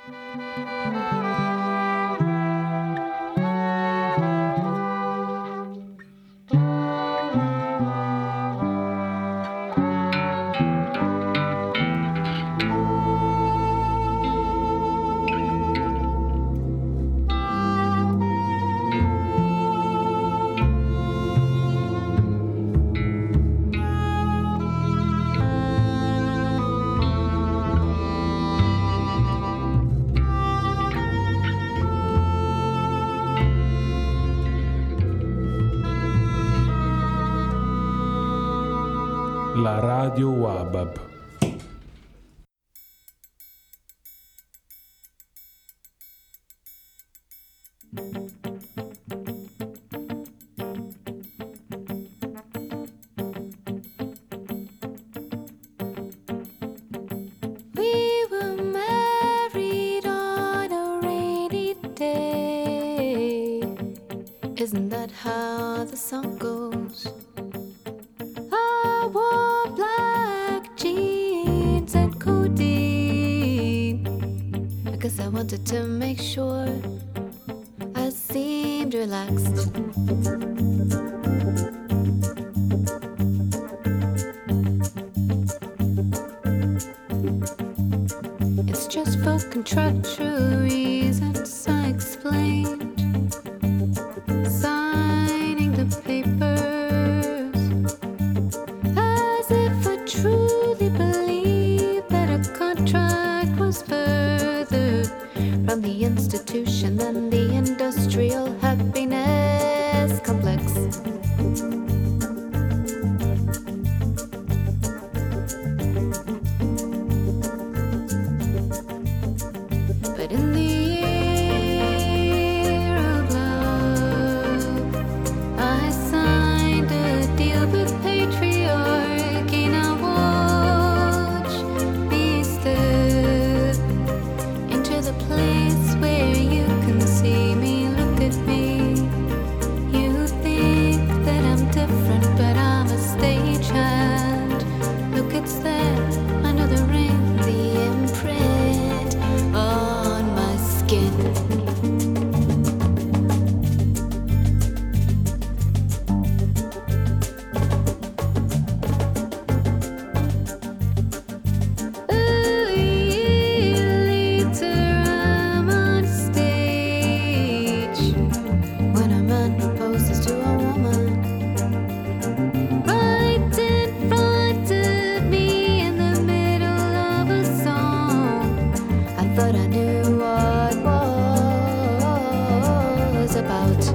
La Radio Wabab. We were married on a rainy day. Isn't that how the song goes? I wore black jeans and codeine. I guess I wanted to make sure I seemed relaxed. It's just for contractual reasons, I explained. Signing the papers as if I truly believed that a contract was further from the institution than the industrial happiness complex. But in the year of love, I signed a deal with patriarchy. Now watch me step into the place where you can see me. Look at me. You think that I'm different, but I'm a stagehand. Look, it's there under the ring, the imprint on my skin. Later I'm on stage when a man proposes to a woman. Right in front of me in the middle of a song. I thought I knew what was about.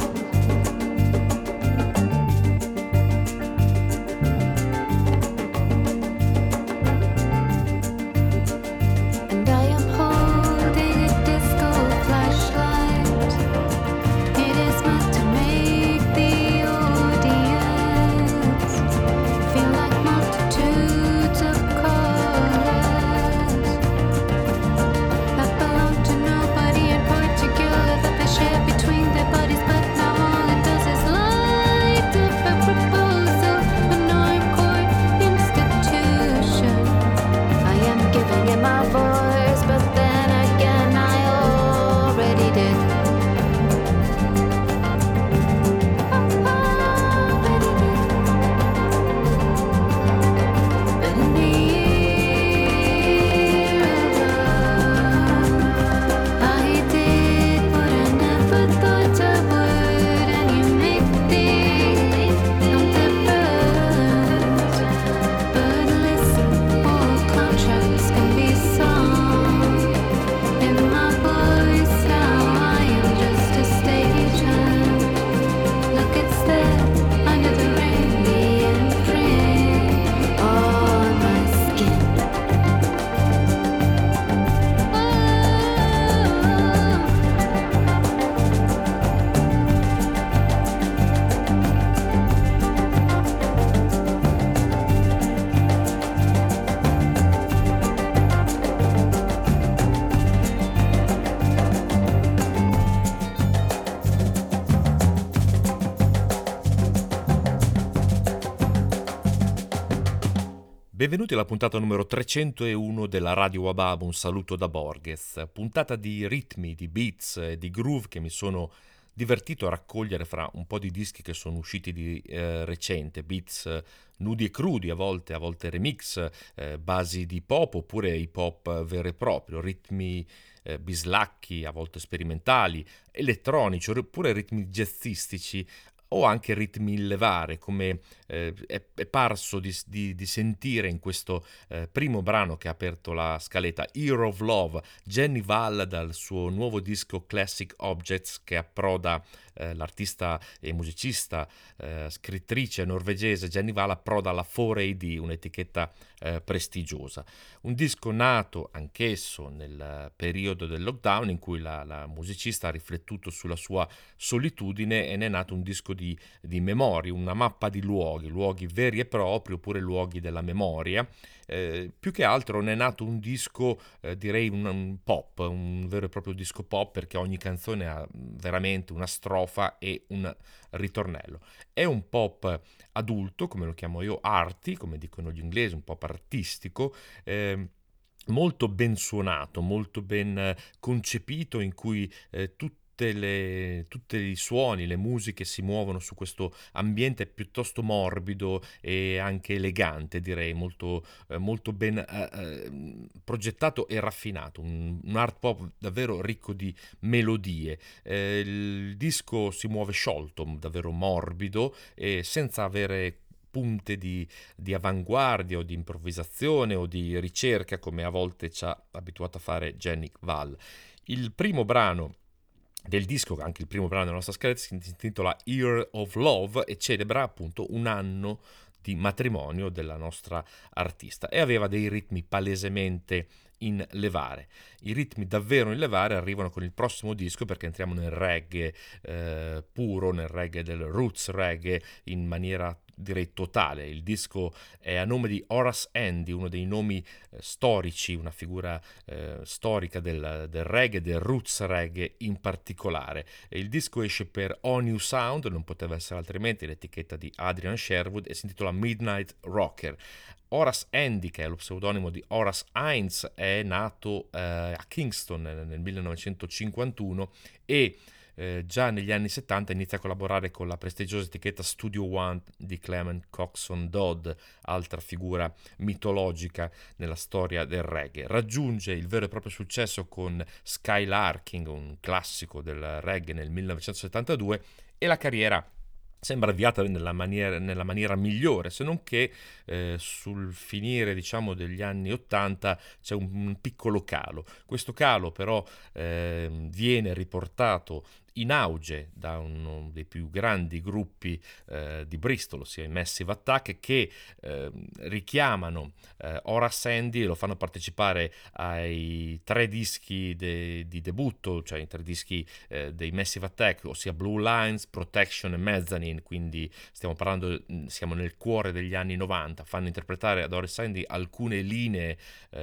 And I am holding a disco flashlight. It is meant to make the audience feel like multitudes of colors that belong to Benvenuti alla puntata numero 301 della Radio Wabab, un saluto da Borges, puntata di ritmi, di beats e di groove che mi sono divertito a raccogliere fra un po' di dischi che sono usciti di recente, beats nudi e crudi, a volte remix, basi di pop oppure hip hop vero e proprio, ritmi bislacchi, a volte sperimentali, elettronici oppure ritmi jazzistici, o anche ritmi in levare, come è parso di sentire in questo primo brano che ha aperto la scaletta, Hero of Love, Jenny Val, dal suo nuovo disco Classic Objects, che approda l'artista e musicista, scrittrice norvegese Jenny Val, approda alla 4AD, un'etichetta prestigiosa. Un disco nato anch'esso nel periodo del lockdown, in cui la musicista ha riflettuto sulla sua solitudine, e ne è nato un disco di memorie, una mappa di luoghi veri e propri oppure luoghi della memoria. Più che altro ne è nato un disco, direi un pop, un vero e proprio disco pop, perché ogni canzone ha veramente una strofa e un ritornello. È un pop adulto, come lo chiamo io, arty, come dicono gli inglesi, un pop artistico, molto ben suonato, molto ben concepito, in cui tutti i suoni, le musiche si muovono su questo ambiente piuttosto morbido e anche elegante, direi, molto ben progettato e raffinato, un art pop davvero ricco di melodie. Il disco si muove sciolto, davvero morbido, e senza avere punte di avanguardia o di improvvisazione o di ricerca, come a volte ci ha abituato a fare Jenny Val. Il primo brano del disco, anche il primo brano della nostra scaletta, si intitola Year of Love e celebra appunto un anno di matrimonio della nostra artista, e aveva dei ritmi palesemente in levare. I ritmi davvero in levare arrivano con il prossimo disco, perché entriamo nel reggae puro, nel reggae del roots reggae in maniera, direi, totale. Il disco è a nome di Horace Andy, uno dei nomi storici, una figura storica del reggae, del roots reggae in particolare. E il disco esce per O New Sound, non poteva essere altrimenti, l'etichetta di Adrian Sherwood, e si intitola Midnight Rocker. Horace Andy, che è lo pseudonimo di Horace Hines, è nato a Kingston nel 1951 e già negli anni 70 inizia a collaborare con la prestigiosa etichetta Studio One di Clement Coxon Dodd, altra figura mitologica nella storia del reggae. Raggiunge il vero e proprio successo con Skylarking, un classico del reggae, nel 1972, e la carriera sembra avviata nella maniera migliore, se non che sul finire, diciamo, degli anni 80 c'è un piccolo calo. Questo calo però viene riportato in auge da uno dei più grandi gruppi di Bristol, ossia i Massive Attack, che richiamano Horace Andy e lo fanno partecipare ai 3 dischi di debutto, cioè i 3 dischi dei Massive Attack, ossia Blue Lines, Protection e Mezzanine. Quindi siamo nel cuore degli anni 90. Fanno interpretare ad Horace Andy alcune linee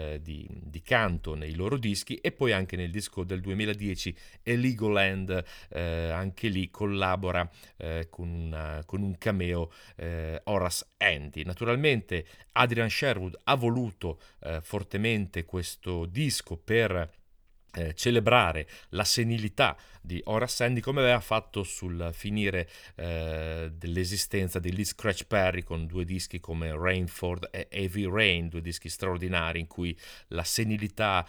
di canto nei loro dischi, e poi anche nel disco del 2010 Legoland, anche lì collabora con un cameo Horace Andy. Naturalmente Adrian Sherwood ha voluto fortemente questo disco per celebrare la senilità di Horace Andy, come aveva fatto sul finire dell'esistenza di Lee Scratch Perry, con 2 dischi come Rainford e Heavy Rain, 2 dischi straordinari in cui la senilità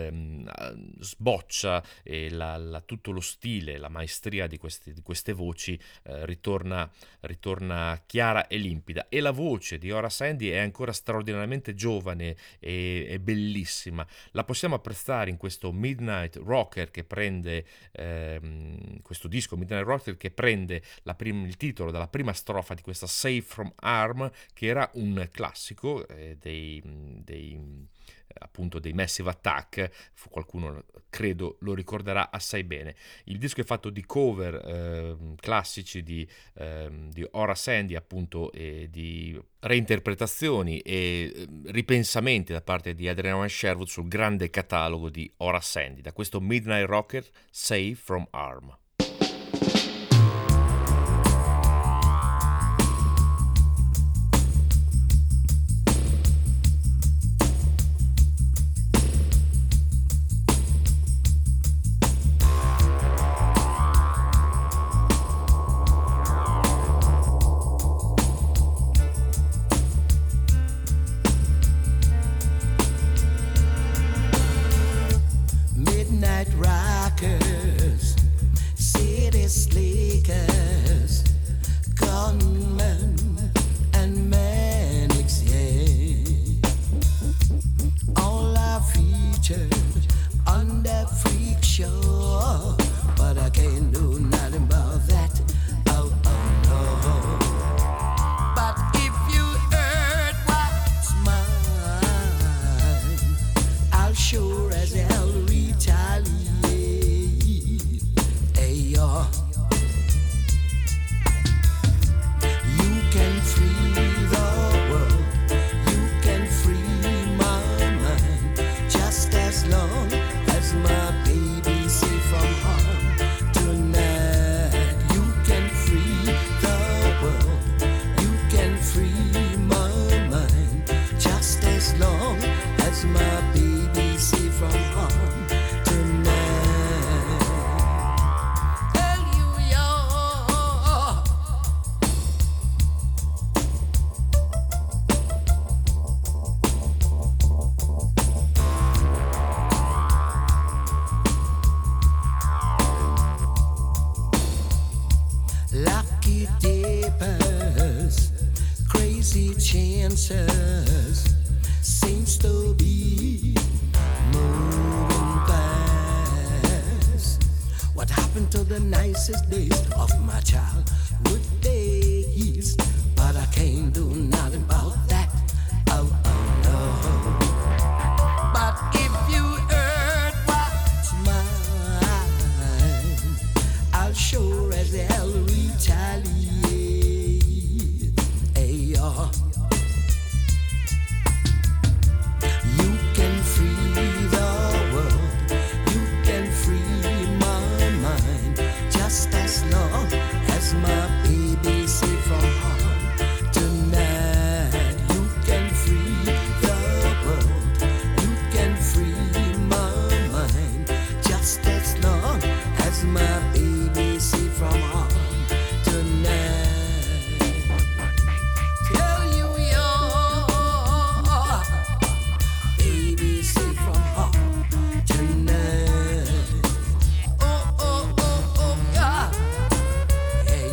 sboccia, e tutto lo stile, la maestria di queste voci ritorna chiara e limpida. E la voce di Horace Andy è ancora straordinariamente giovane e bellissima. La possiamo apprezzare in questo Midnight Rocker, che prende questo disco Midnight Rocker, che prende il titolo dalla prima strofa di questa Safe from Harm, che era un classico appunto dei Massive Attack. Qualcuno credo lo ricorderà assai bene. Il disco è fatto di cover classici di Horace Andy, appunto, e di reinterpretazioni e ripensamenti da parte di Adrian Sherwood sul grande catalogo di Horace Andy. Da questo Midnight Rocker, Safe from Harm. midnight rockers, city slickers, gunmen and manics, yeah. All are featured on that freak show, but I can't do nothing about that. Oh, oh no. But if you heard what's mine, I'll sure as hell retaliate. Hey, yo. You can free the world, you can free my mind, just as long as my baby safe from harm tonight. You can free the world, you can free my mind, just as long as my baby safe from harm tonight. Tell you, yo. Lucky dippers, crazy chances, seems to be moving fast. What happened to the nicest days of my childhood days? But I can't do nothing about that. Oh, oh no. But if you heard what's mine, I'll sure as hell retaliate. Hey, yo. You can free the world, you can free my mind, just as long as my baby safe from harm tonight. You can free the world, you can free my mind, just as long as my baby safe from harm tonight. Tell you, yo, baby safe from harm tonight. Oh, oh, oh, oh, yeah. Hey.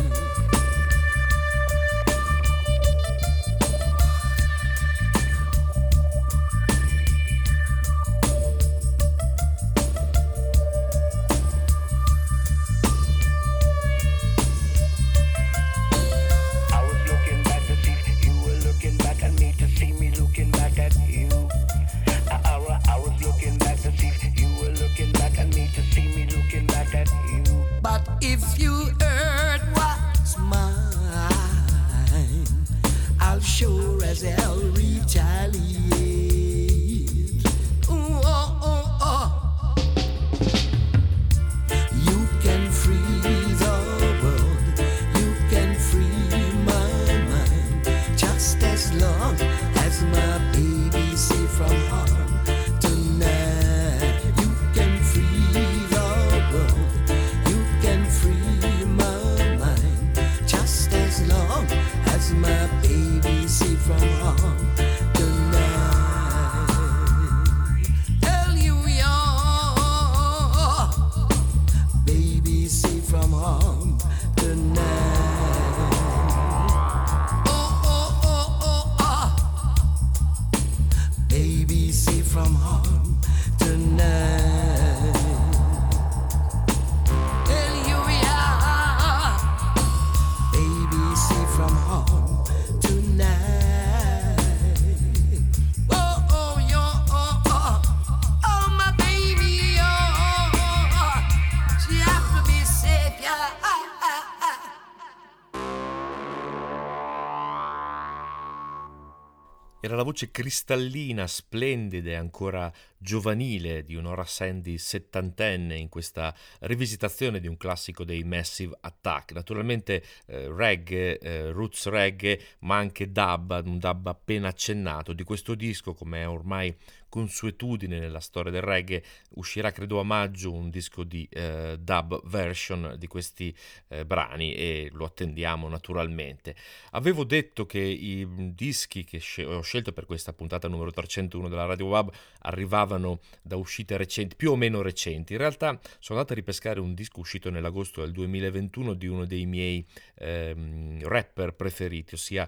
I was looking back to see if you were looking back at me, to see me looking back at you. I was looking back to see if you were looking back at me, to see me looking back at you. But if you heard what's mine, I'll sure as hell retaliate. Ooh, oh, oh, oh. You can free the world, you can free my mind, just as long as my baby safe from harm tonight. You can free the world, you can free my mind, just as long as my baby safe from harm tonight. Tell you, yo, baby safe from harm tonight. Oh, oh, oh, oh, oh. Baby safe from harm tonight. Tell you, yeah, baby safe from harm tonight. Oh, oh, yo, oh, oh, oh, my baby, oh, she have to be safe, yeah. Era la voce cristallina, splendida e ancora giovanile di Nora Sandy settantenne in questa rivisitazione di un classico dei Massive Attack. Naturalmente reggae, roots reggae, ma anche dub, un dub appena accennato. Di questo disco, come è ormai consuetudine nella storia del reggae, uscirà credo a maggio un disco di dub version di questi brani e lo attendiamo naturalmente. Avevo detto che i dischi che ho scelto per questa puntata numero 301 della Radio WAB arrivavano mancavano da uscite recenti, più o meno recenti. In realtà sono andato a ripescare un disco uscito nell'agosto del 2021 di uno dei miei rapper preferiti, ossia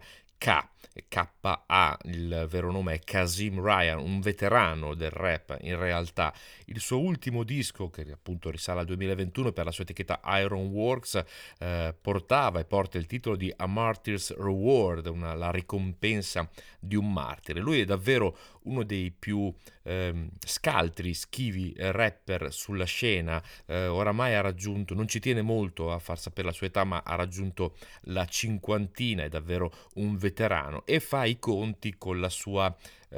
K.A. Il vero nome è Kazim Ryan, un veterano del rap. In realtà il suo ultimo disco, che appunto risale al 2021 per la sua etichetta Ironworks, portava e porta il titolo di A Martyr's Reward, la ricompensa di un martire. Lui è davvero uno dei più scaltri, schivi rapper sulla scena. Oramai ha raggiunto, non ci tiene molto a far sapere la sua età, ma ha raggiunto la cinquantina, è davvero un veterano e fa i conti con la sua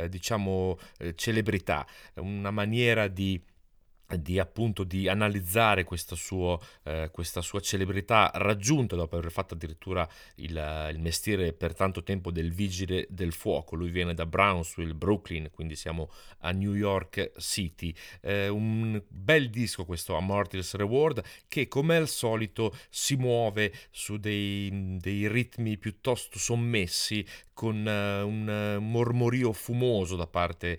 celebrità, una maniera di appunto di analizzare questa sua celebrità raggiunta dopo aver fatto addirittura il mestiere per tanto tempo del vigile del fuoco. Lui viene da Brownsville, Brooklyn, quindi siamo a New York City. Un bel disco questo, A Martyr's Reward, che come al solito si muove su dei ritmi piuttosto sommessi, con un mormorio fumoso da parte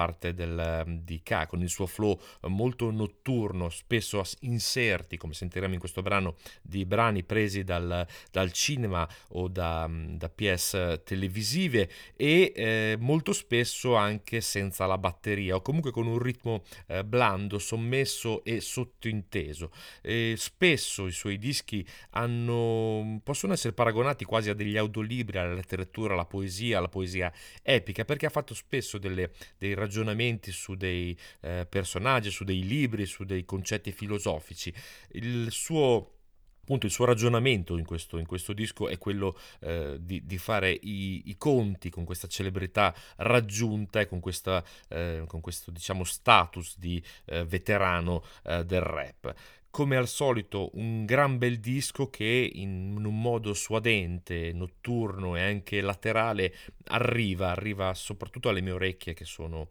di K, con il suo flow molto notturno, spesso inserti, come sentiremo in questo brano, di brani presi dal cinema o da pièce televisive, e molto spesso anche senza la batteria, o comunque con un ritmo blando, sommesso e sottointeso. E spesso i suoi dischi possono essere paragonati quasi a degli audiolibri, alla letteratura, la poesia epica, perché ha fatto spesso dei ragionamenti su dei personaggi, su dei libri, su dei concetti filosofici. Il suo ragionamento in questo disco è quello di fare i conti con questa celebrità raggiunta e con questo diciamo status di veterano del rap. Come al solito un gran bel disco che in un modo suadente, notturno e anche laterale arriva soprattutto alle mie orecchie, che sono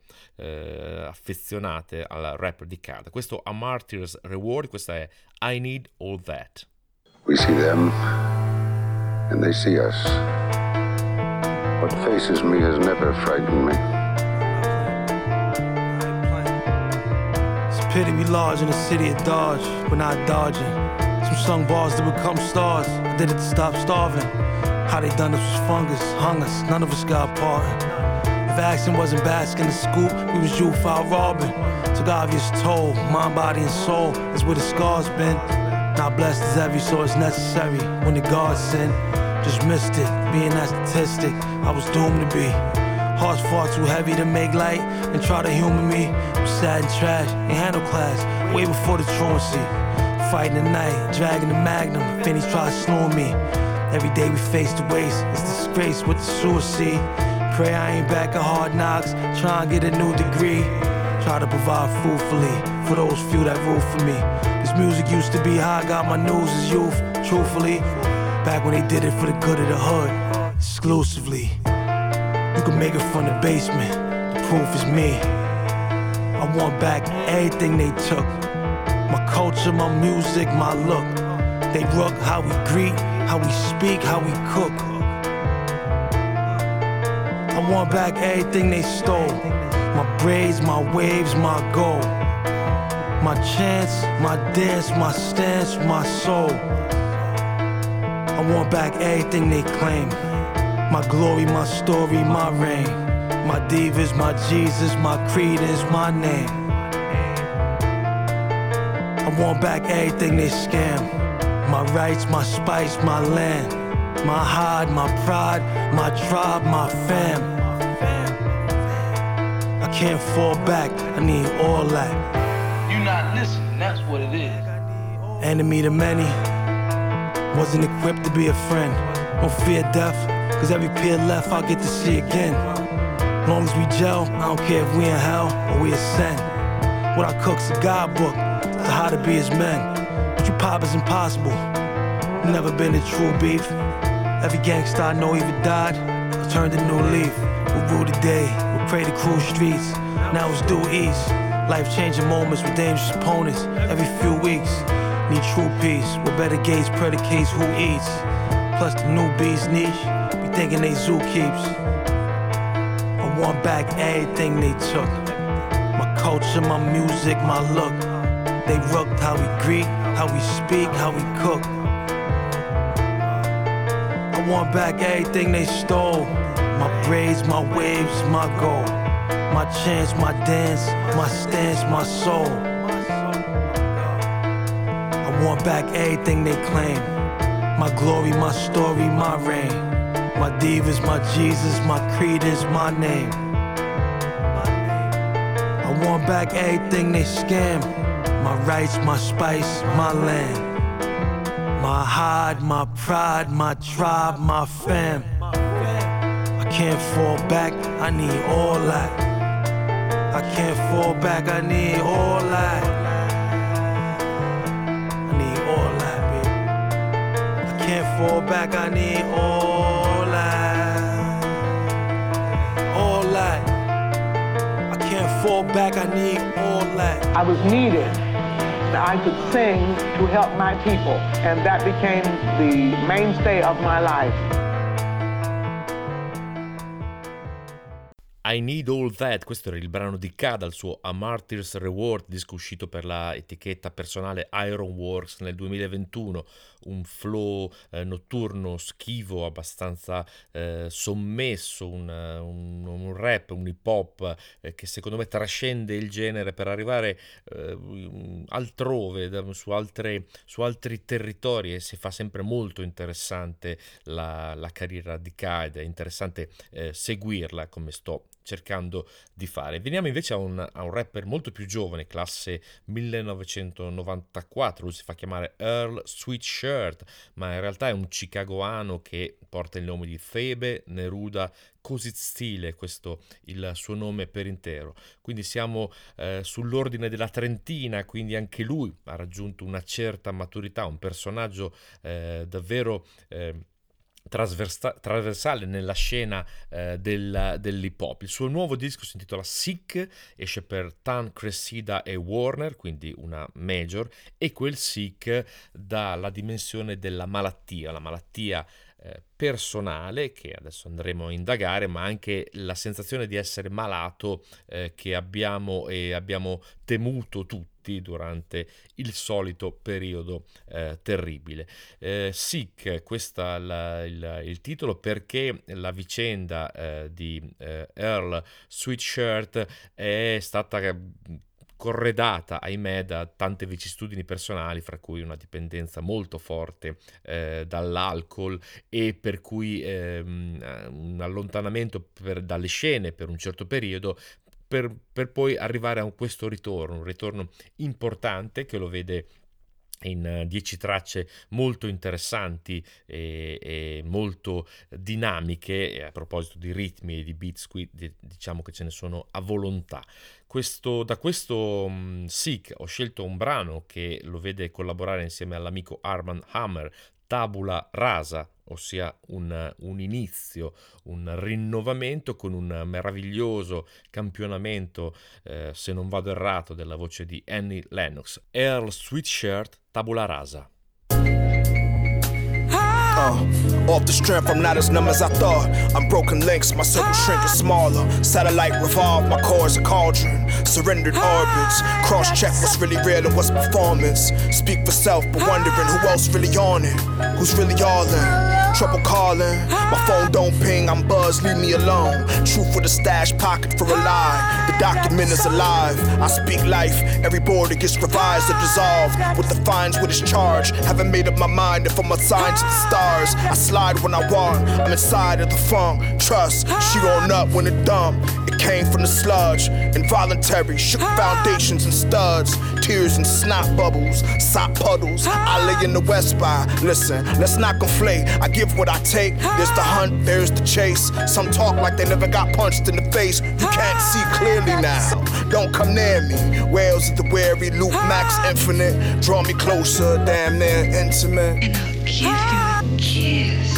affezionate al rap di K. Questo A Martyr's Reward, questa è I Need All That. We see them and they see us. What faces me has never frightened me. Pity we large in the city of Dodge, we're not dodging. Some sung bars to become stars, I did it to stop starving. How they done this was fungus, hung us, none of us got parted. If action wasn't basking the scoop, we was youth out robbing. Took obvious toll, mind, body and soul is where the scars been. Not blessed as every source necessary when the gods sin. Just missed it, being that statistic, I was doomed to be. Hearts far too heavy to make light and try to humor me. I'm sad and trash, ain't handle class, way before the truancy. Fighting the night, dragging the magnum, Finney's try to slow me. Every day we face the waste, it's disgrace with the suicide. Pray I ain't back at Hard Knocks, try and get a new degree. Try to provide fruitfully for those few that root for me. This music used to be how I got my news as youth, truthfully. Back when they did it for the good of the hood, exclusively. You can make it from the basement, the proof is me. I want back everything they took. My culture, my music, my look. They rook how we greet, how we speak, how we cook. I want back everything they stole. My braids, my waves, my goal. My chance, my dance, my stance, my soul. I want back everything they claim. My glory, my story, my reign. My divas, my Jesus, my creed is my name. I want back everything they scam. My rights, my spice, my land. My hide, my pride, my tribe, my fam. I can't fall back, I need all that. You not listening, that's what it is. Enemy to many, wasn't equipped to be a friend. Don't fear death, cause every peer left I'll get to see again. Long as we gel, I don't care if we in hell or we ascend. What I cook's a guidebook to how to be as men. What you pop is impossible, never been a true beef. Every gangsta I know either died or turned a new leaf. We'll rule the day, we'll pray to cruise streets. Now it's due east, life-changing moments with dangerous opponents every few weeks. Need true peace, with better gates predicates who eats. Plus the newbies niche, be thinking they zoo keeps. I want back everything they took. My culture, my music, my look. They rooked how we greet, how we speak, how we cook. I want back everything they stole. My braids, my waves, my goal. My chance, my dance, my stance, my soul. I want back everything they claim. My glory, my story, my reign. My divas, my Jesus, my creed is my name. I want back everything they scam. My rights, my spice, my land. My hide, my pride, my tribe, my fam. I can't fall back, I need all that. I can't fall back, I need all that. I need all that, baby. I can't fall back, I need all that. All that. I can't fall back, I need all that. I was needed. I could sing to help my people, and that became the mainstay of my life. I Need All That, questo era il brano di K dal suo A Martyr's Reward, disco uscito per la etichetta personale Ironworks nel 2021, un flow notturno schivo, abbastanza sommesso, un rap, un hip hop che secondo me trascende il genere per arrivare altrove, su altri territori, e si fa sempre molto interessante la carriera di K ed è interessante seguirla come sto cercando di fare. Veniamo invece a un rapper molto più giovane, classe 1994, lui si fa chiamare Earl Sweatshirt, ma in realtà è un chicagoano che porta il nome di Thebe Neruda Cosizile, questo il suo nome per intero. Quindi siamo sull'ordine della trentina, quindi anche lui ha raggiunto una certa maturità, un personaggio davvero trasversale nella scena dell'hip hop. Il suo nuovo disco si intitola Sick, esce per Tan Cressida e Warner, quindi una major, e quel Sick dà la dimensione della malattia, la malattia personale che adesso andremo a indagare, ma anche la sensazione di essere malato che abbiamo temuto tutti durante il solito periodo terribile. Sick, questo è il titolo, perché la vicenda di Earl Sweatshirt è stata corredata, ahimè, da tante vicissitudini personali, fra cui una dipendenza molto forte dall'alcol, e per cui un allontanamento dalle scene per un certo periodo, per poi arrivare a questo ritorno, un ritorno importante che lo vede in 10 tracce molto interessanti e molto dinamiche, e a proposito di ritmi e di beats qui diciamo che ce ne sono a volontà. Da questo Sick ho scelto un brano che lo vede collaborare insieme all'amico Armand Hammer, Tabula Rasa, ossia un inizio, un rinnovamento con un meraviglioso campionamento, se non vado errato, della voce di Annie Lennox. Earl Sweatshirt, Tabula Rasa. Off the strength, I'm not as numb as I thought. I'm broken links, my circle shrinking smaller. Satellite revolve, my core is a cauldron. Surrendered orbits, cross-check what's really real and what's performance. Speak for self, but wondering who else really on it. Who's really all in? Trouble calling, my phone don't ping, I'm buzzed, leave me alone. Truth with a stash pocket for a lie. The document is alive, I speak life. Every border gets revised or dissolved. What defines what is charged? Haven't made up my mind if I'm assigned to the stars. I slide when I want, I'm inside of the funk. Trust, she on up when it dump. It came from the sludge, involuntary, shook foundations and studs. Tears and snot bubbles, sop puddles. I lay in the west by, listen, let's not conflate. I give what I take, there's the hunt, there's the chase. Some talk like they never got punched in the face. You can't see clearly now, don't come near me. Whales of the wary, Luke Max Infinite. Draw me closer, damn near intimate. And I'll give you a kiss.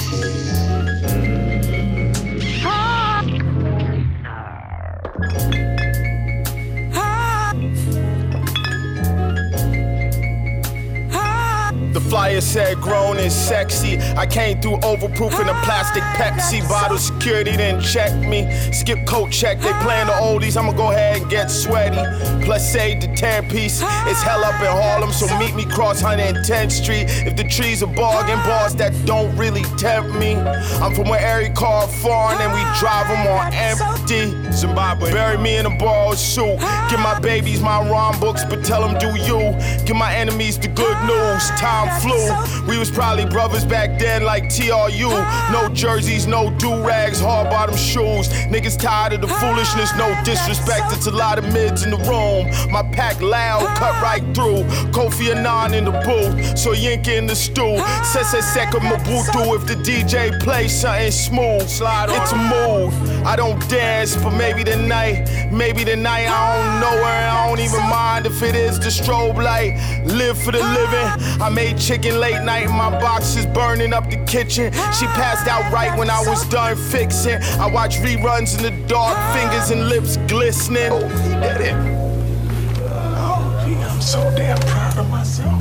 The flyer said grown and sexy. I came through overproofing a plastic Pepsi bottle. Security didn't check me. Skip coat check, they playing the oldies. I'ma go ahead and get sweaty. Plus save the 10 piece. It's hell up in Harlem, so meet me cross 110th Street. If the trees are bargain bars that don't really tempt me. I'm from where every car foreign and we drive them on empty. Zimbabwe. Bury me in a borrowed suit. Give my babies my rhyme books, but tell them do you. Give my enemies the good news. Time flew. We was probably brothers back then like TRU. No jerseys, no do-rags, hard bottom shoes. Niggas tired of the foolishness, no disrespect. It's a lot of mids in the room. My pack loud, cut right through. Kofi Annan in the booth, so Yinka in the stew. Sese Seka Mabutu if the DJ plays something smooth. Slide on. It's a mood. I don't dance, but maybe tonight I don't know her. I don't even mind if it is the strobe light. Live for the living. I made chicken late night. My box is burning up the kitchen. She passed out right when I was done fixing. I watch reruns in the dark, fingers and lips glistening. Oh, he did it. Oh, gee, I'm so damn proud of myself.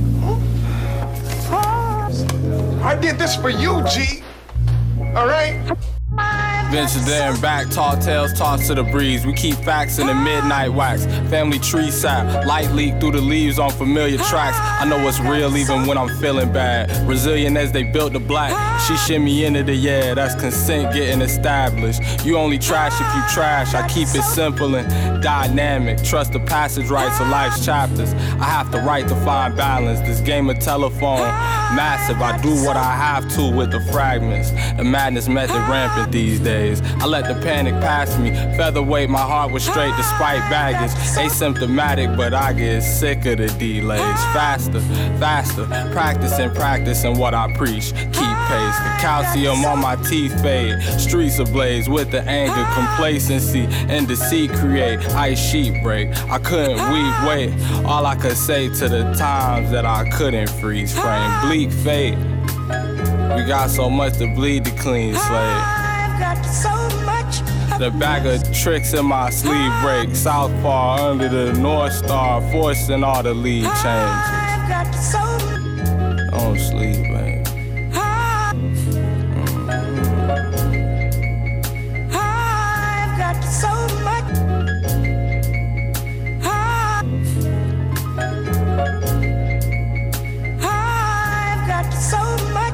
I did this for you, G. All right? Venture there and back, tall tales tossed to the breeze. We keep facts in the midnight wax. Family tree sap, light leak through the leaves on familiar tracks. I know what's real even when I'm feeling bad. Resilient as they built the black. She shimmy into the yeah, that's consent getting established. You only trash if you trash. I keep it simple and dynamic. Trust the passage rights of life's chapters. I have to write to find balance. This game of telephone, massive. I do what I have to with the fragments. The madness method rampant these days. I let the panic pass me. Featherweight, my heart was straight despite baggage. Asymptomatic, but I get sick of the delays. Faster, practicing what I preach. Keep pace, the calcium on my teeth fade. Streets ablaze with the anger, complacency, and deceit create. Ice sheet break, I couldn't wait. All I could say to the times that I couldn't freeze frame. Bleak fate, we got so much to bleed to clean slate. Got so much. The bag of tricks in my sleeve break. Southpaw under the North Star, forcing all the lead changes. Don't sleep, man. I've got so much. I've got so much.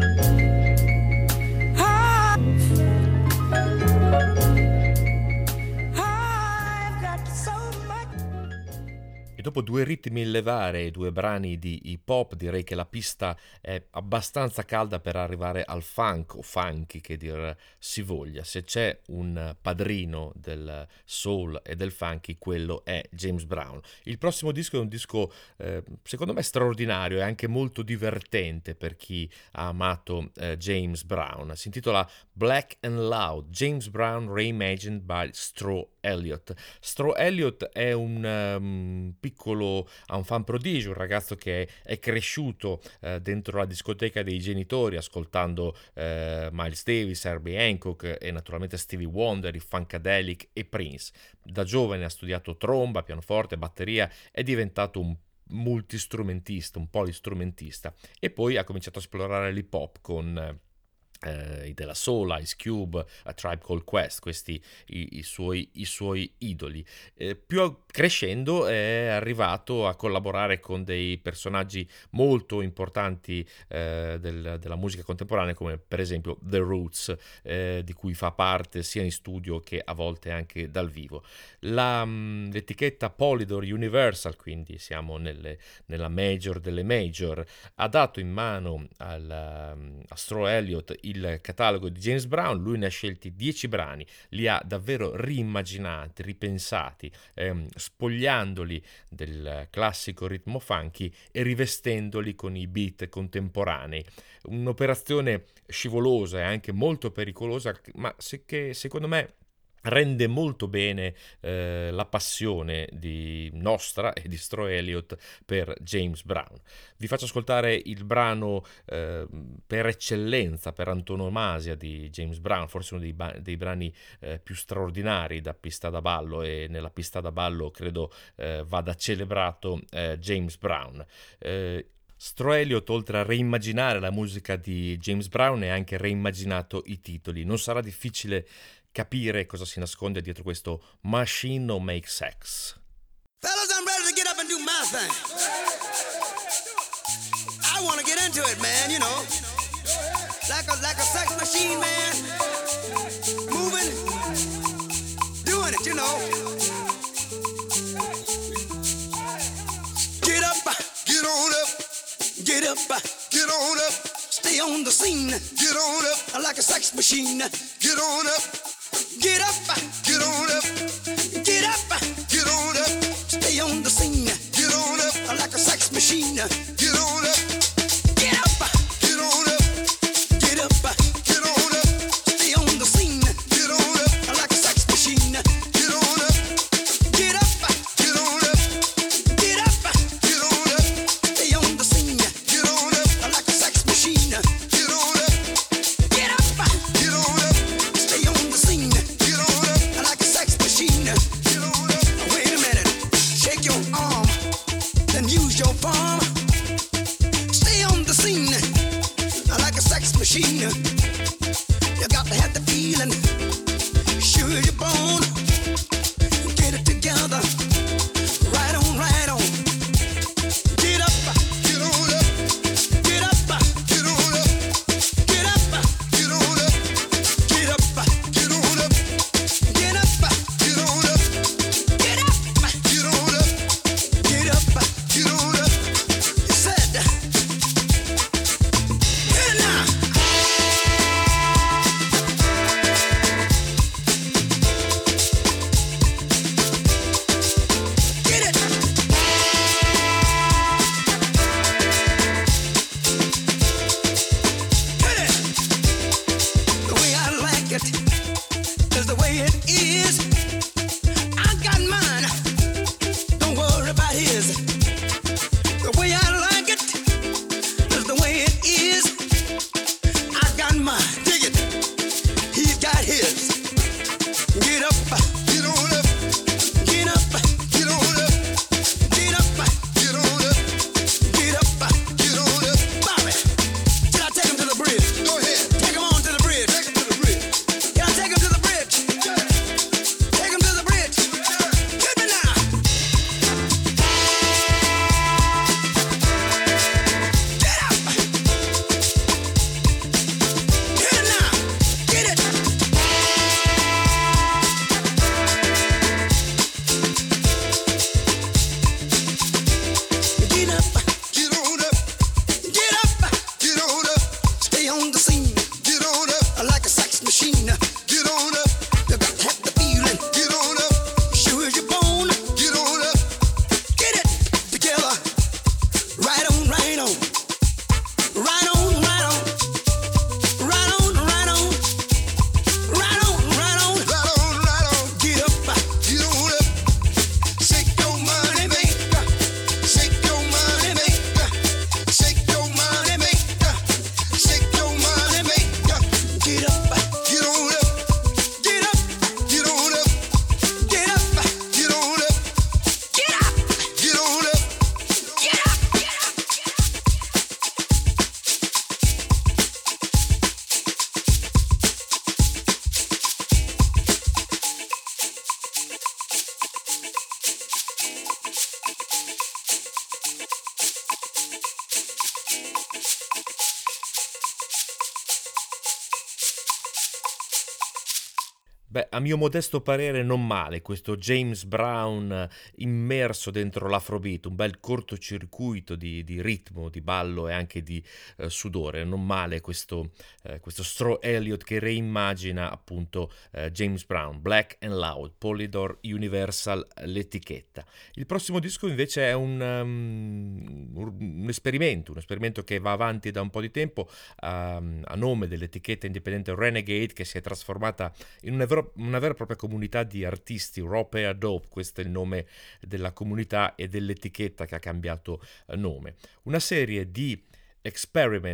E dopo due ritmi in levare e due brani di hip hop, direi che la pista è abbastanza calda per arrivare al funk o funky, che dir si voglia. Se c'è un padrino del soul e del funky, quello è James Brown. Il prossimo disco è un disco secondo me straordinario e anche molto divertente per chi ha amato James Brown. Si intitola Black and Loud, James Brown Reimagined by Straw Elliott. Straw Elliott è un fan prodigio, un ragazzo che è cresciuto dentro la discoteca dei genitori ascoltando Miles Davis, Herbie Hancock e naturalmente Stevie Wonder, i Funkadelic e Prince. Da giovane ha studiato tromba, pianoforte, batteria, è diventato un multistrumentista, un polistrumentista, e poi ha cominciato a esplorare l'hip hop con i della Soul, Ice Cube, A Tribe Called Quest, questi i suoi idoli. Più crescendo è arrivato a collaborare con dei personaggi molto importanti della musica contemporanea, come per esempio The Roots, di cui fa parte sia in studio che a volte anche dal vivo. L'etichetta Polydor Universal, quindi siamo nella major delle major, ha dato in mano a Straw Elliott il catalogo di James Brown. Lui ne ha scelti 10 brani, li ha davvero riimmaginati, ripensati, spogliandoli del classico ritmo funky e rivestendoli con i beat contemporanei. Un'operazione scivolosa e anche molto pericolosa, ma che secondo me rende molto bene la passione di nostra e di Straw Elliott per James Brown. Vi faccio ascoltare il brano per eccellenza, per antonomasia di James Brown, forse uno dei brani più straordinari da pista da ballo, e nella pista da ballo credo vada celebrato James Brown. Stro Elliott, oltre a reimmagginare la musica di James Brown, ha anche reimmaginato i titoli. Non sarà difficile capire cosa si nasconde dietro questo Machine No Make Sex. Fellas, I'm ready to get up and do my thing. I want to get into it, man, you know. Like a sex machine, man. Moving, doing it, you know. Get up, get on up. Get up, get on up. Stay on the scene. Get on up. Like a sex machine. Get on up. Get up, get on up. Get up, get on up. Stay on the scene. Get on up. Like a sex machine. Get on up. Get up, get on up. Get up, get on up. Stay on the scene. Get on up. Like a sex machine. Get on up. Get up, get on up. Get up, get on up. Stay on the scene. Get on up. Like a sex machine. Get on up. Get up, get on up. Stay on the scene. Get on up. Like a sex machine. Get on up. Wait a minute. Shake your arm. Then use your palm. Stay on the scene. Like a sex machine. You got to have the feeling. Sure you're born. Get it together. Right on, right on. Get up, get on up. Get up, get on up. Get up, get on up. Get up, get on up. Get up, get on up. Get up, get on up. Get up, get on up. You said, hey now. Get it. Hit it. The way I like it is the way it is. I got mine. Don't worry about his. The way I like it is the way it is. I got mine. Dig it. He's got his. Get up. Get on up. Get up. Get on up. Get up. Get on up. Get up. Get on up. Bobby, can I take him to the bridge? Go ahead. Take him on to the bridge. Take him to the bridge. Can I take him to the bridge? Take him to the bridge. Hit me now. Get up. Hit it now. Get it. Get up, get on up, get up, get on up. Stay on the scene, get on up. Like a sex machine, get on up. You got to have the feeling, get on up. Sure as you're born, get on up. Get it together, right on, right on. Right on, right on. Right on, right on. Right on, right on. Right on, right on. Get up, get on up. Shake your money, maker. Shake your money, maker. Shake your money, maker. Shake your money, maker. Get up, get on up. Get up, get on up. Get up, get on up. Get up, get on up. Get up, get up. Beh, a mio modesto parere non male questo James Brown immerso dentro l'afrobeat, un bel cortocircuito di ritmo, di ballo e anche di sudore. Non male questo Stro Elliott che reimmagina appunto James Brown, Black and Loud, Polydor Universal l'etichetta. Il prossimo disco invece è un esperimento che va avanti da un po' di tempo a nome dell'etichetta indipendente Renegade, che si è trasformata in una vera e propria comunità di artisti, Rope e Dope, questo è il nome della comunità e dell'etichetta che ha cambiato nome. Una serie di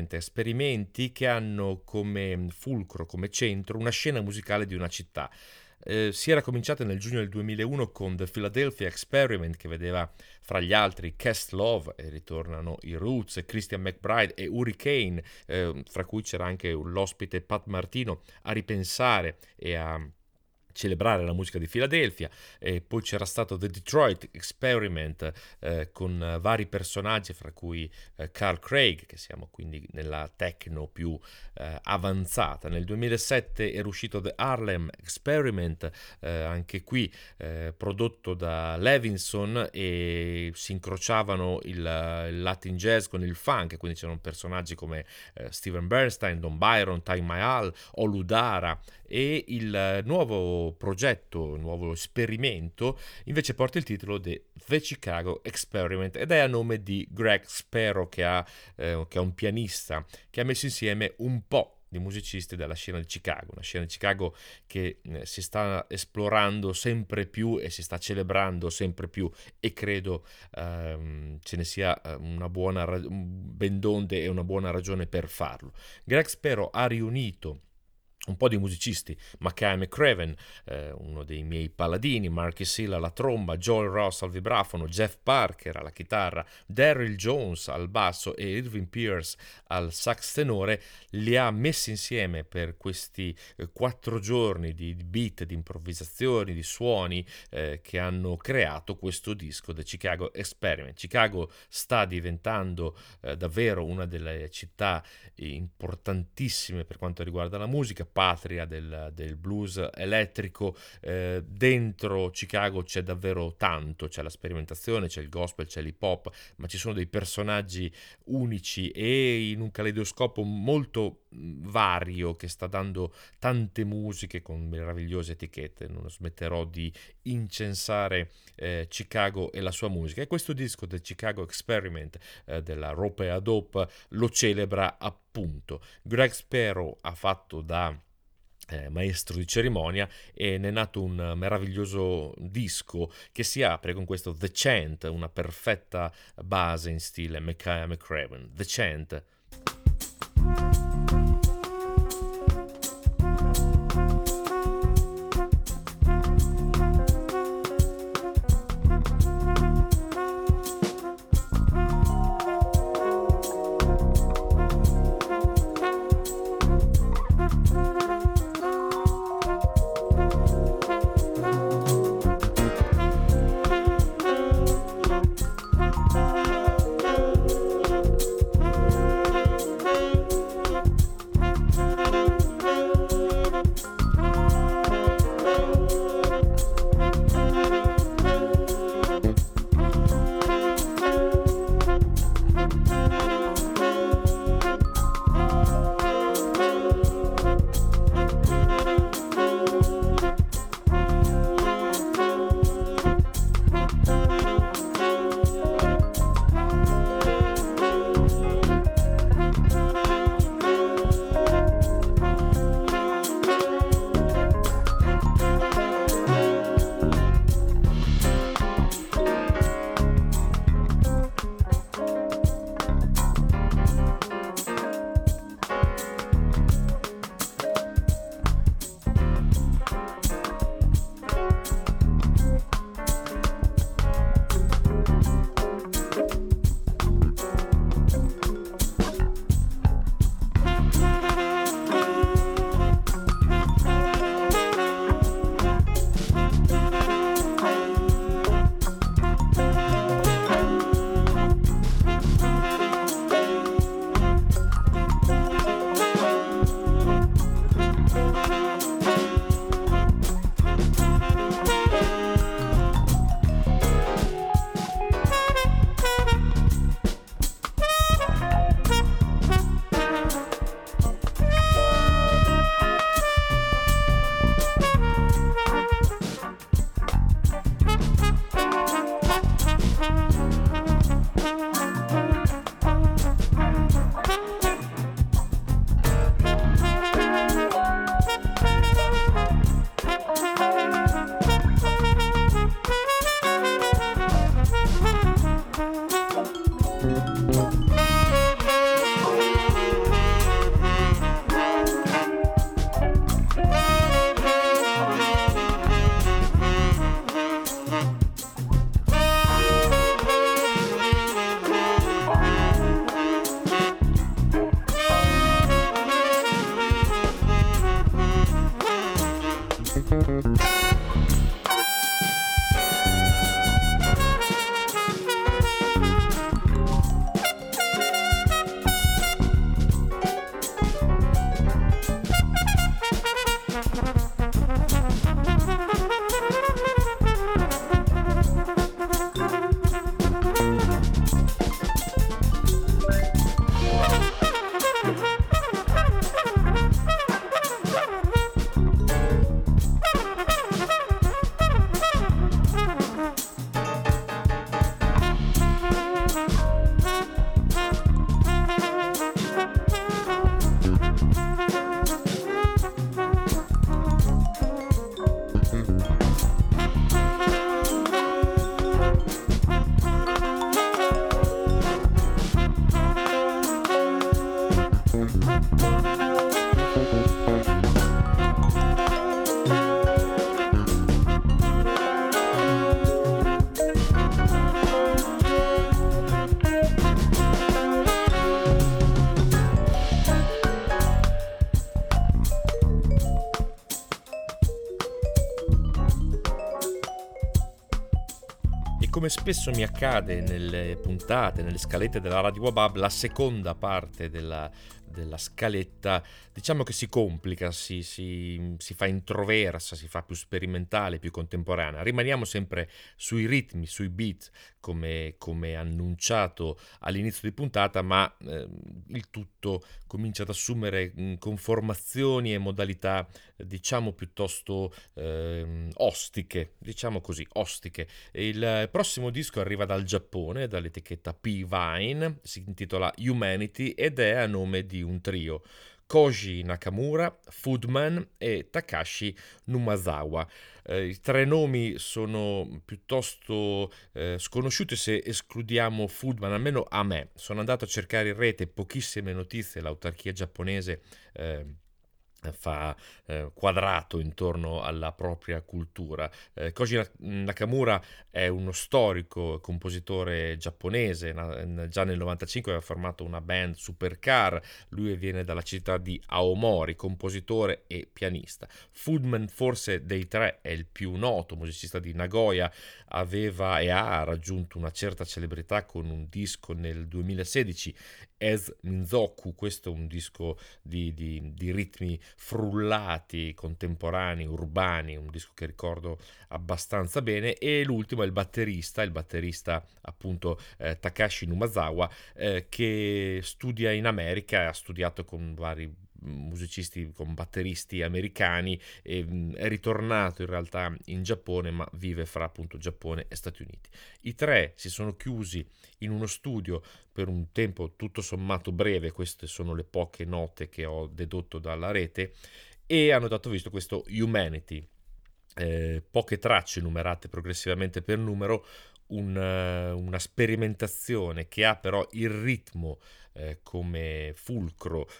esperimenti che hanno come fulcro, come centro, una scena musicale di una città. Si era cominciata nel giugno del 2001 con The Philadelphia Experiment, che vedeva fra gli altri Questlove, e ritornano i Roots, Christian McBride e Hurricane, fra cui c'era anche l'ospite Pat Martino a ripensare e a celebrare la musica di Philadelphia. E poi c'era stato The Detroit Experiment con vari personaggi, fra cui Carl Craig, che siamo quindi nella techno più avanzata. Nel 2007 era uscito The Harlem Experiment, anche qui prodotto da Levinson, e si incrociavano il Latin jazz con il funk, quindi c'erano personaggi come Steven Bernstein, Don Byron, Ty Mahal, Oludara. E il nuovo progetto, il nuovo esperimento invece porta il titolo di The Chicago Experiment ed è a nome di Greg Sparrow, che è un pianista che ha messo insieme un po' di musicisti della scena di Chicago, una scena di Chicago che si sta esplorando sempre più e si sta celebrando sempre più, e credo ce ne sia una buona ben donde e una buona ragione per farlo. Greg Sparrow ha riunito un po' di musicisti: Makaya McCraven, uno dei miei paladini, Marcus Hill alla tromba, Joel Ross al vibrafono, Jeff Parker alla chitarra, Daryl Jones al basso e Irving Pierce al sax tenore. Li ha messi insieme per questi 4 giorni di beat, di improvvisazioni, di suoni che hanno creato questo disco, The Chicago Experiment. Chicago sta diventando davvero una delle città importantissime per quanto riguarda la musica, patria del blues elettrico. Dentro Chicago c'è davvero tanto, c'è la sperimentazione, c'è il gospel, c'è l'hip hop, ma ci sono dei personaggi unici e in un caleidoscopo molto vario che sta dando tante musiche con meravigliose etichette. Non smetterò di incensare Chicago e la sua musica, e questo disco del Chicago Experiment della Rope a Dope lo celebra appunto. Greg Sparrow ha fatto da maestro di cerimonia e ne è nato un meraviglioso disco che si apre con questo The Chant, una perfetta base in stile Makaya McCraven. The Chant. come spesso mi accade nelle puntate, nelle scalette della Radio Wabab, la seconda parte della scaletta diciamo che si complica, si fa introversa, si fa più sperimentale, più contemporanea. Rimaniamo sempre sui ritmi, sui beat come annunciato all'inizio di puntata, ma il tutto comincia ad assumere conformazioni e modalità diciamo piuttosto ostiche, diciamo così, ostiche. Il prossimo disco arriva dal Giappone, dall'etichetta P-Vine, si intitola Humanity ed è a nome di un trio: Koji Nakamura, Foodman e Takashi Numazawa. I tre nomi sono piuttosto sconosciuti se escludiamo Foodman, almeno a me. Sono andato a cercare in rete pochissime notizie, l'autarchia giapponese fa quadrato intorno alla propria cultura. Koji Nakamura è uno storico compositore giapponese, già nel 95 aveva formato una band Supercar, lui viene dalla città di Aomori, compositore e pianista. Foodman forse dei tre è il più noto, musicista di Nagoya, aveva e ha raggiunto una certa celebrità con un disco nel 2016, Es Minzoku. Questo è un disco di ritmi frullati, contemporanei, urbani, un disco che ricordo abbastanza bene. E l'ultimo è il batterista appunto Takashi Numazawa, che studia in America, ha studiato con vari musicisti, con batteristi americani, e è ritornato in realtà in Giappone, ma vive fra appunto Giappone e Stati Uniti. I tre si sono chiusi in uno studio per un tempo tutto sommato breve, queste sono le poche note che ho dedotto dalla rete, e hanno dato visto questo Humanity, poche tracce numerate progressivamente per numero, una sperimentazione che ha però il ritmo come fulcro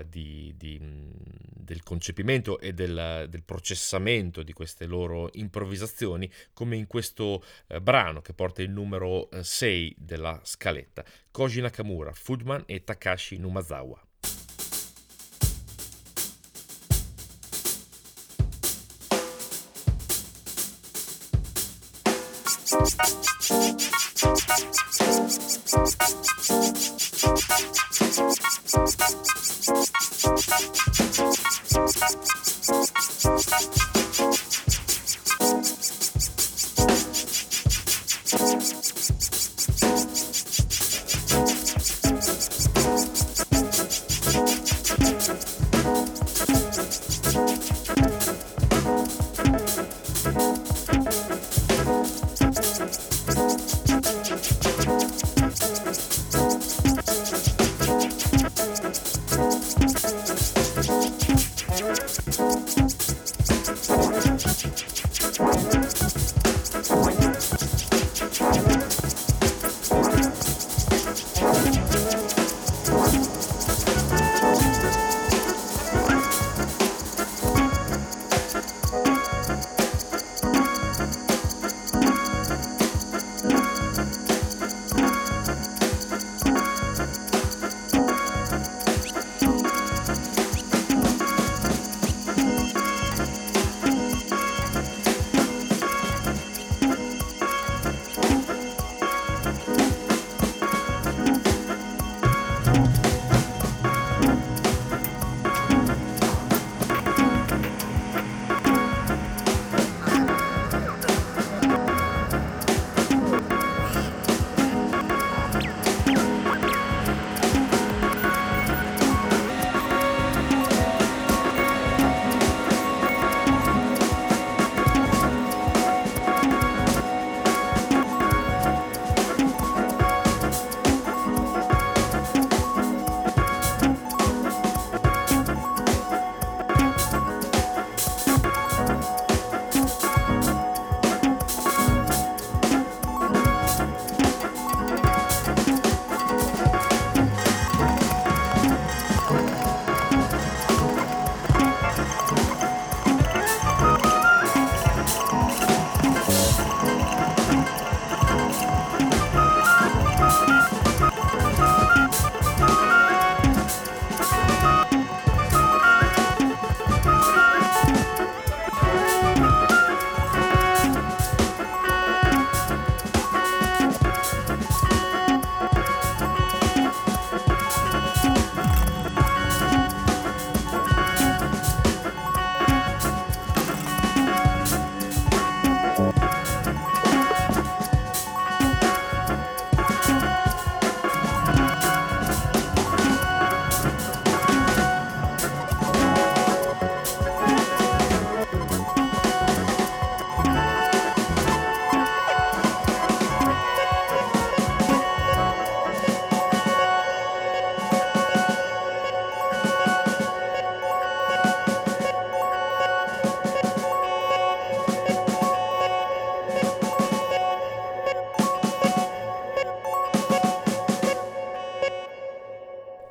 del concepimento e del processamento di queste loro improvvisazioni, come in questo brano che porta il numero 6 della scaletta: Koji Nakamura, Foodman e Takashi Numazawa.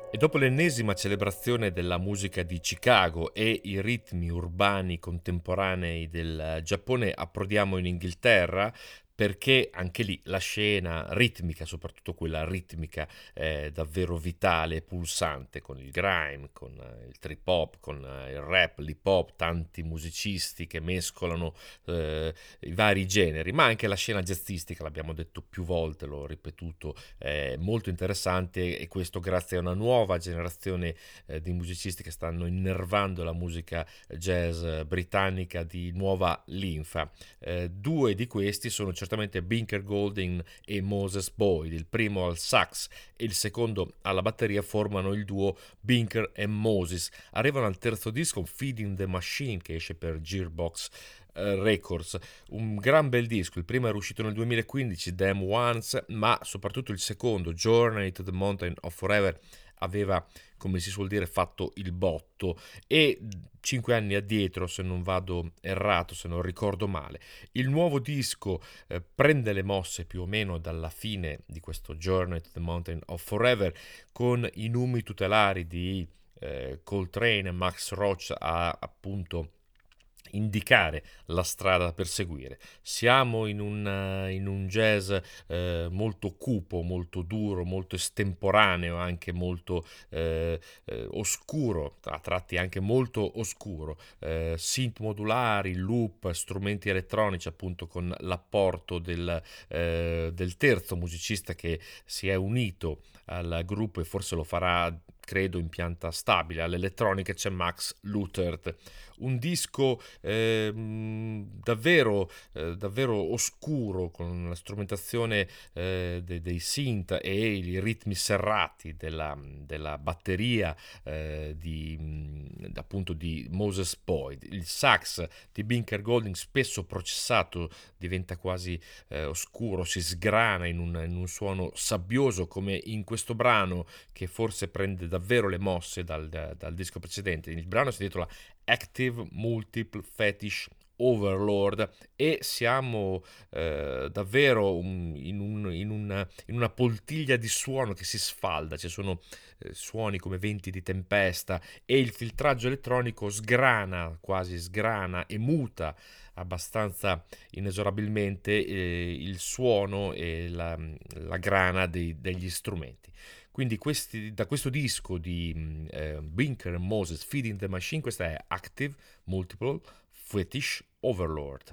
E dopo l'ennesima celebrazione della musica di Chicago e i ritmi urbani contemporanei del Giappone, approdiamo in Inghilterra, perché anche lì la scena ritmica, soprattutto quella ritmica davvero vitale e pulsante, con il grime, con il trip hop, con il rap, l'hip hop, tanti musicisti che mescolano i vari generi, ma anche la scena jazzistica, l'abbiamo detto più volte, l'ho ripetuto, è molto interessante, e questo grazie a una nuova generazione di musicisti che stanno innervando la musica jazz britannica di nuova linfa. Due di questi sono certamente Binker Golding e Moses Boyd. Il primo al sax e il secondo alla batteria formano il duo Binker e Moses. Arrivano al terzo disco, Feeding the Machine, che esce per Gearbox Records, un gran bel disco. Il primo era uscito nel 2015, Damn Ones, ma soprattutto il secondo, Journey to the Mountain of Forever, aveva, come si suol dire, fatto il botto. E 5 anni addietro, se non vado errato, se non ricordo male, il nuovo disco prende le mosse più o meno dalla fine di questo Journey to the Mountain of Forever, con i numi tutelari di Coltrane e Max Roach a appunto indicare la strada da perseguire. Siamo in un jazz molto cupo, molto duro, molto estemporaneo, anche molto oscuro, a tratti anche molto oscuro, synth modulari, loop, strumenti elettronici, appunto con l'apporto del terzo musicista che si è unito al gruppo e forse lo farà, credo, in pianta stabile all'elettronica. C'è Max Luther. Un disco davvero oscuro, con la strumentazione dei synth e i ritmi serrati della batteria appunto di Moses Boyd. Il sax di Binker Golding, spesso processato, diventa quasi oscuro, si sgrana in un suono sabbioso, come in questo brano, che forse prende davvero le mosse dal disco precedente. Il brano si intitola Active Multiple Fetish Overlord, e siamo davvero in una poltiglia di suono che si sfalda. Ci sono suoni come venti di tempesta, e il filtraggio elettronico quasi sgrana e muta abbastanza inesorabilmente il suono e la grana degli strumenti. Quindi da questo disco di Binker e Moses, Feeding the Machine, questa è Active Multiple Fetish Overlord.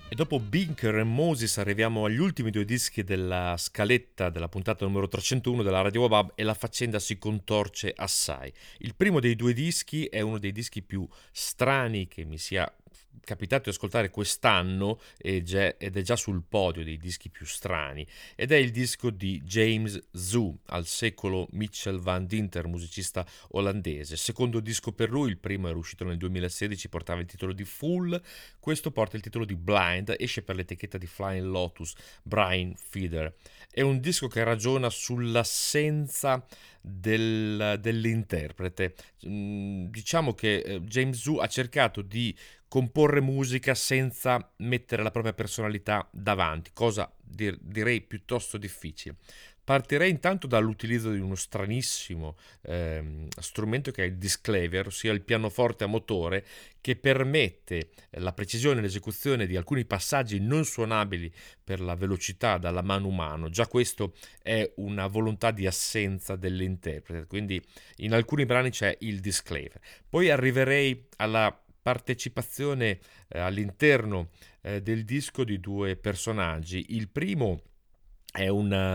E dopo Binker e Moses arriviamo agli ultimi due dischi della scaletta della puntata numero 301 della Radio Wabab e la faccenda si contorce assai. Il primo dei due dischi è uno dei dischi più strani che mi sia capitato di ascoltare quest'anno ed è già sul podio dei dischi più strani, ed è il disco di James Zoo, al secolo Mitchell Van Dinter, musicista olandese. Secondo disco per lui, il primo era uscito nel 2016, portava il titolo di Fool, questo porta il titolo di Blind, esce per l'etichetta di Flying Lotus, Brian Feeder. È un disco che ragiona sull'assenza dell'interprete. Diciamo che James Zoo ha cercato di comporre musica senza mettere la propria personalità davanti, cosa direi piuttosto difficile. Partirei intanto dall'utilizzo di uno stranissimo strumento che è il disclaver, ossia il pianoforte a motore, che permette la precisione e l'esecuzione di alcuni passaggi non suonabili per la velocità dalla mano umana. Già questo è una volontà di assenza dell'interprete, quindi in alcuni brani c'è il disclaver. Poi arriverei alla partecipazione all'interno del disco di due personaggi. Il primo è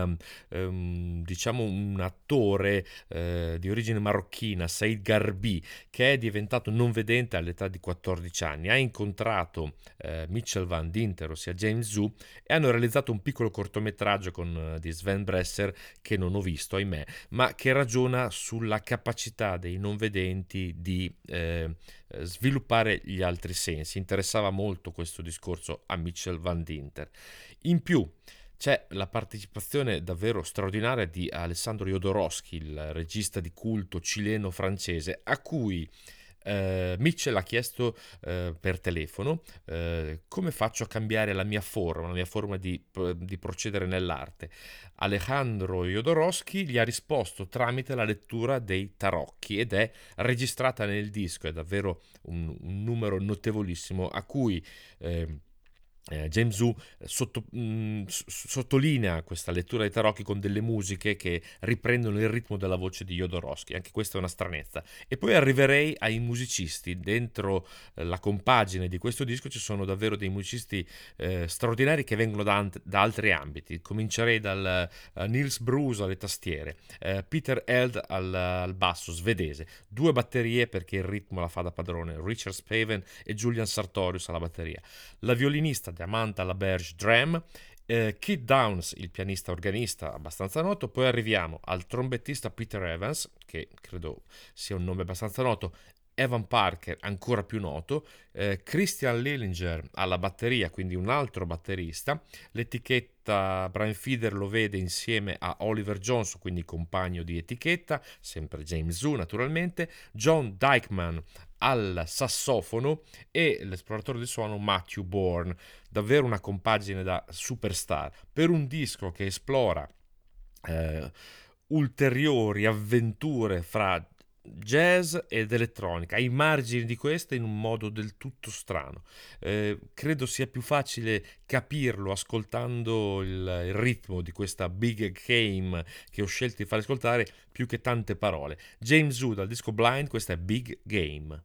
diciamo un attore di origine marocchina, Said Garbi, che è diventato non vedente all'età di 14 anni. Ha incontrato Mitchell Van Dinter, ossia James Zoo, e hanno realizzato un piccolo cortometraggio di Sven Bresser, che non ho visto, ahimè, ma che ragiona sulla capacità dei non vedenti di sviluppare gli altri sensi. Interessava molto questo discorso a Mitchell Van Dinter. In più c'è la partecipazione davvero straordinaria di Alessandro Jodorowsky, il regista di culto cileno-francese, a cui Mitchell ha chiesto per telefono come faccio a cambiare la mia forma di procedere nell'arte. Alejandro Jodorowsky gli ha risposto tramite la lettura dei tarocchi ed è registrata nel disco. È davvero un numero notevolissimo a cui James Zoo sottolinea questa lettura dei tarocchi con delle musiche che riprendono il ritmo della voce di Jodorowsky. Anche questa è una stranezza. E poi arriverei ai musicisti. Dentro la compagine di questo disco ci sono davvero dei musicisti straordinari che vengono da altri ambiti. Comincerei dal Niels Bruce alle tastiere, Peter Eld al basso, svedese, due batterie perché il ritmo la fa da padrone, Richard Spaven e Julian Sartorius alla batteria, la violinista Amanda LaBerge drum, Keith Downs, il pianista organista abbastanza noto. Poi arriviamo al trombettista Peter Evans, che credo sia un nome abbastanza noto, Evan Parker, ancora più noto, Christian Lillinger alla batteria, quindi un altro batterista. L'etichetta Brian Feeder lo vede insieme a Oliver Johnson, quindi compagno di etichetta, sempre James Zoo naturalmente, John Dykman al sassofono e l'esploratore del suono Matthew Bourne. Davvero una compagine da superstar per un disco che esplora ulteriori avventure fra jazz ed elettronica, ai margini di questa in un modo del tutto strano. Credo sia più facile capirlo ascoltando il ritmo di questa big game che ho scelto di far ascoltare più che tante parole. James Zoo dal disco Blind, questa è Big Game.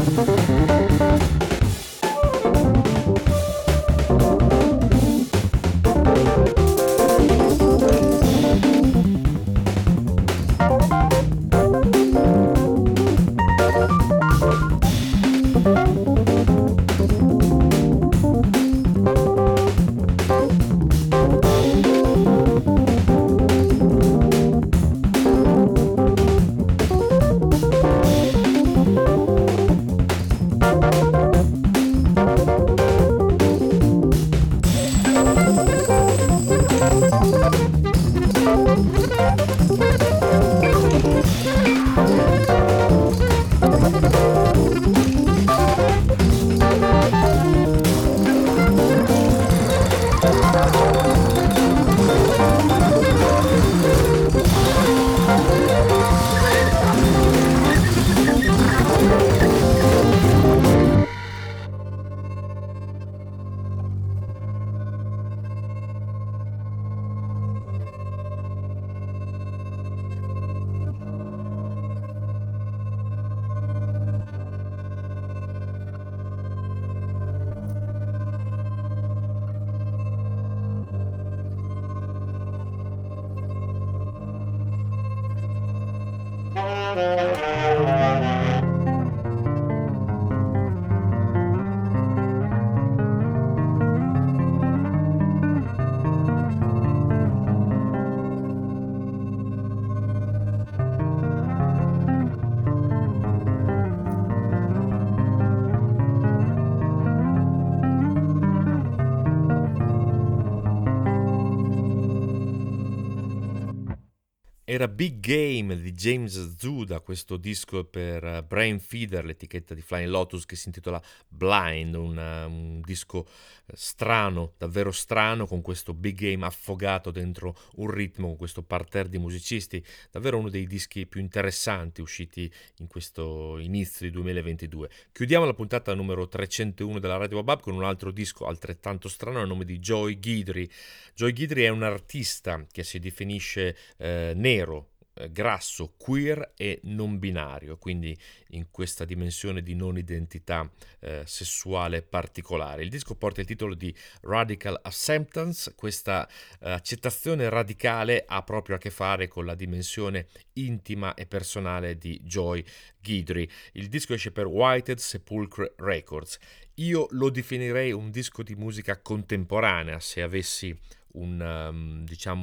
Era Big Game di James Zuda, questo disco per Brain Feeder, l'etichetta di Flying Lotus, che si intitola Blind, un disco strano, davvero strano, con questo Big Game affogato dentro un ritmo, con questo parterre di musicisti, davvero uno dei dischi più interessanti usciti in questo inizio di 2022. Chiudiamo la puntata numero 301 della Radio Wabab con un altro disco altrettanto strano, a nome di Joy Guidry. Joy Guidry è un artista che si definisce nero, grasso, queer e non binario, quindi in questa dimensione di non identità sessuale particolare. Il disco porta il titolo di Radical Acceptance. Questa accettazione radicale ha proprio a che fare con la dimensione intima e personale di Joy Guidry. Il disco esce per Whited Sepulchre Records. Io lo definirei un disco di musica contemporanea, se avessi un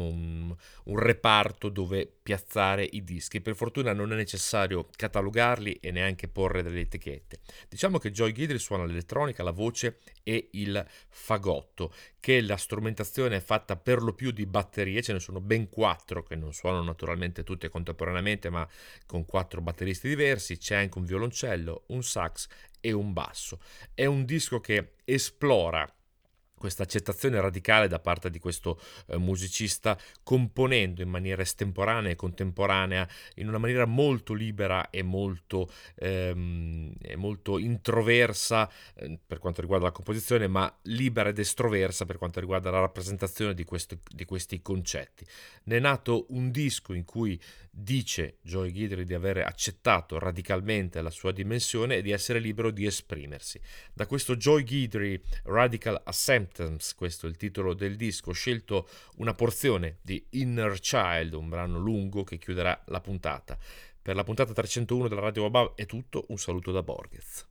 reparto dove piazzare i dischi. Per fortuna non è necessario catalogarli e neanche porre delle etichette. Diciamo che Joy Guidry suona l'elettronica, la voce e il fagotto, che la strumentazione è fatta per lo più di batterie. Ce ne sono ben 4 che non suonano naturalmente tutte contemporaneamente, ma con 4 batteristi diversi. C'è anche un violoncello, un sax e un basso. È un disco che esplora questa accettazione radicale da parte di questo musicista, componendo in maniera estemporanea e contemporanea, in una maniera molto libera e molto introversa per quanto riguarda la composizione, ma libera ed estroversa per quanto riguarda la rappresentazione di questi concetti. Ne è nato un disco in cui dice Joy Guidry di aver accettato radicalmente la sua dimensione e di essere libero di esprimersi. Da questo Joy Guidry Radical Acceptance, questo è il titolo del disco, ho scelto una porzione di Inner Child, un brano lungo che chiuderà la puntata. Per la puntata 301 della Radio Wabab è tutto, un saluto da Borghez.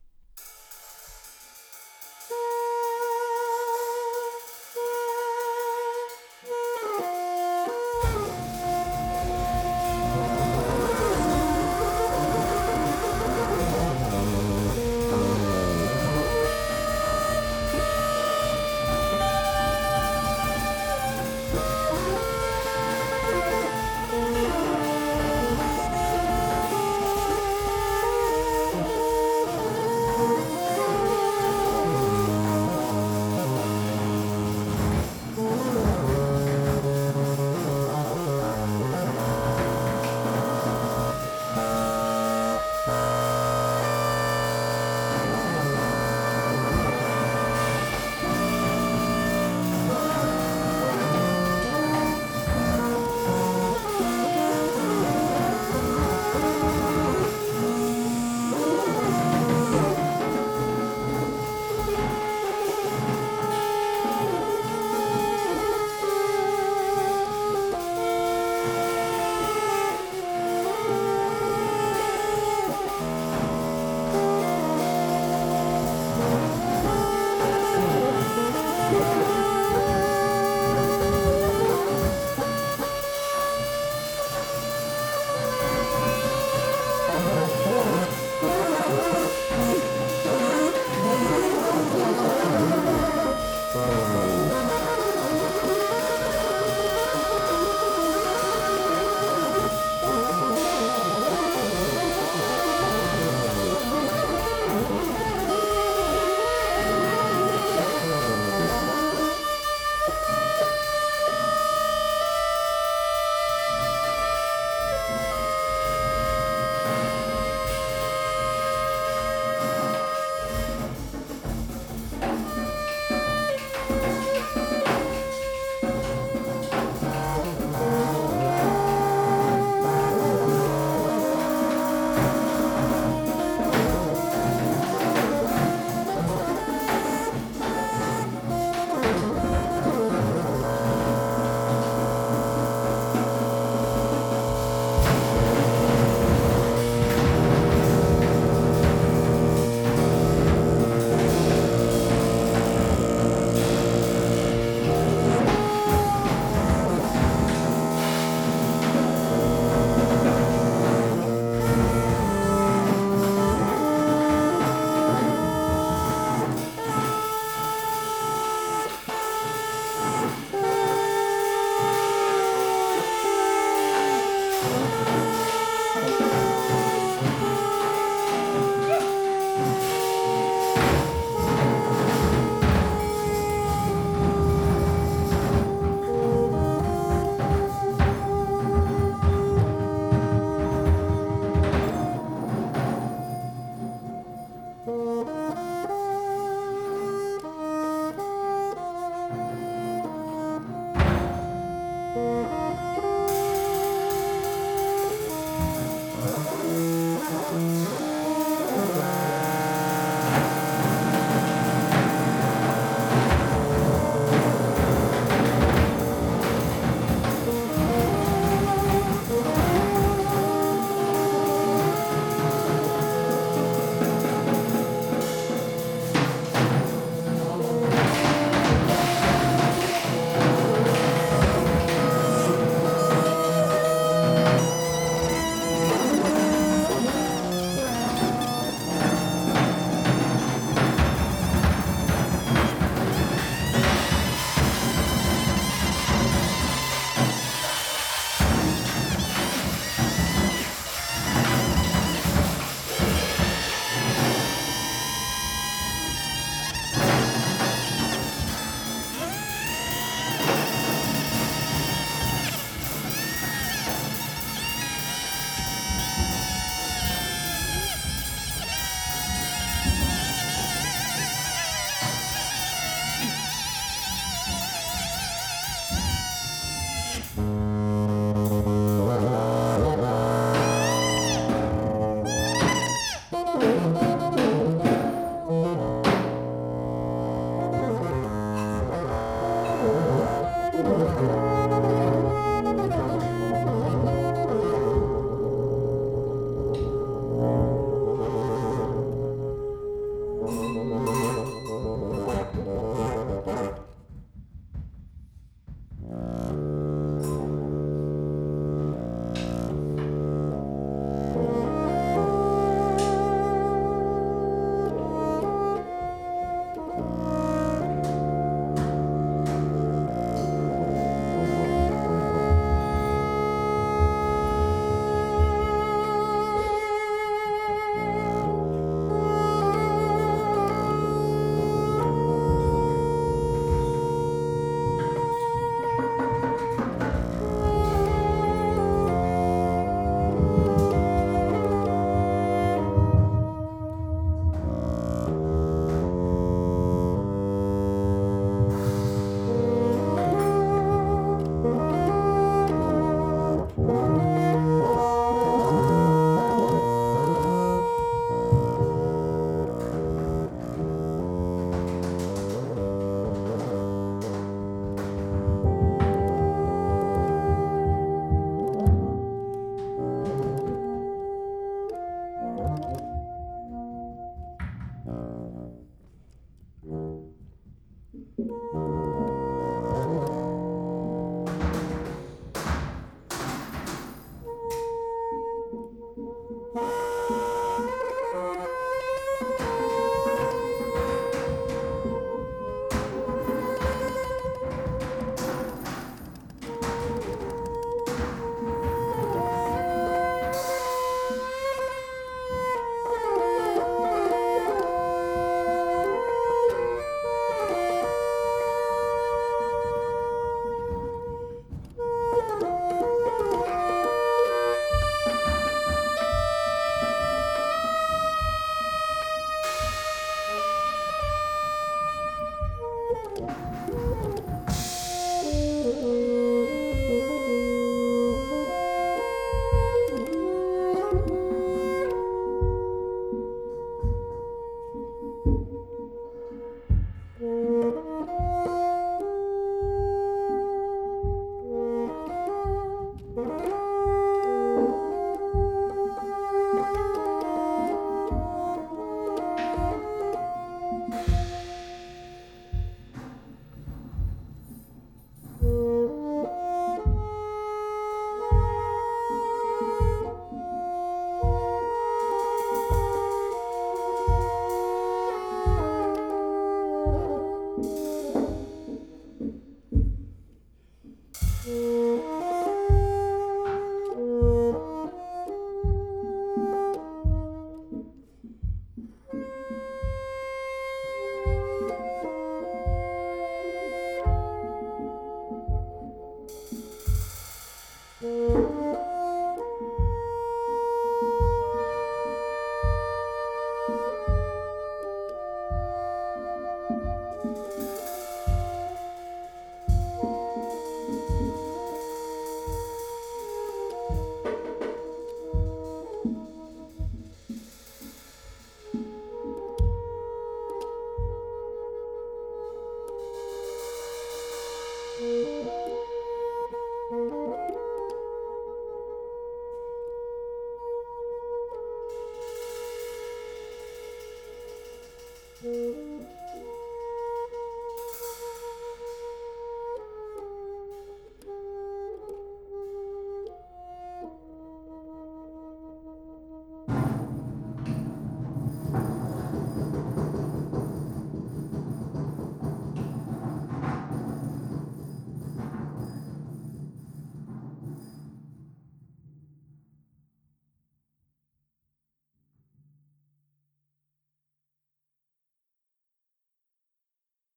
you.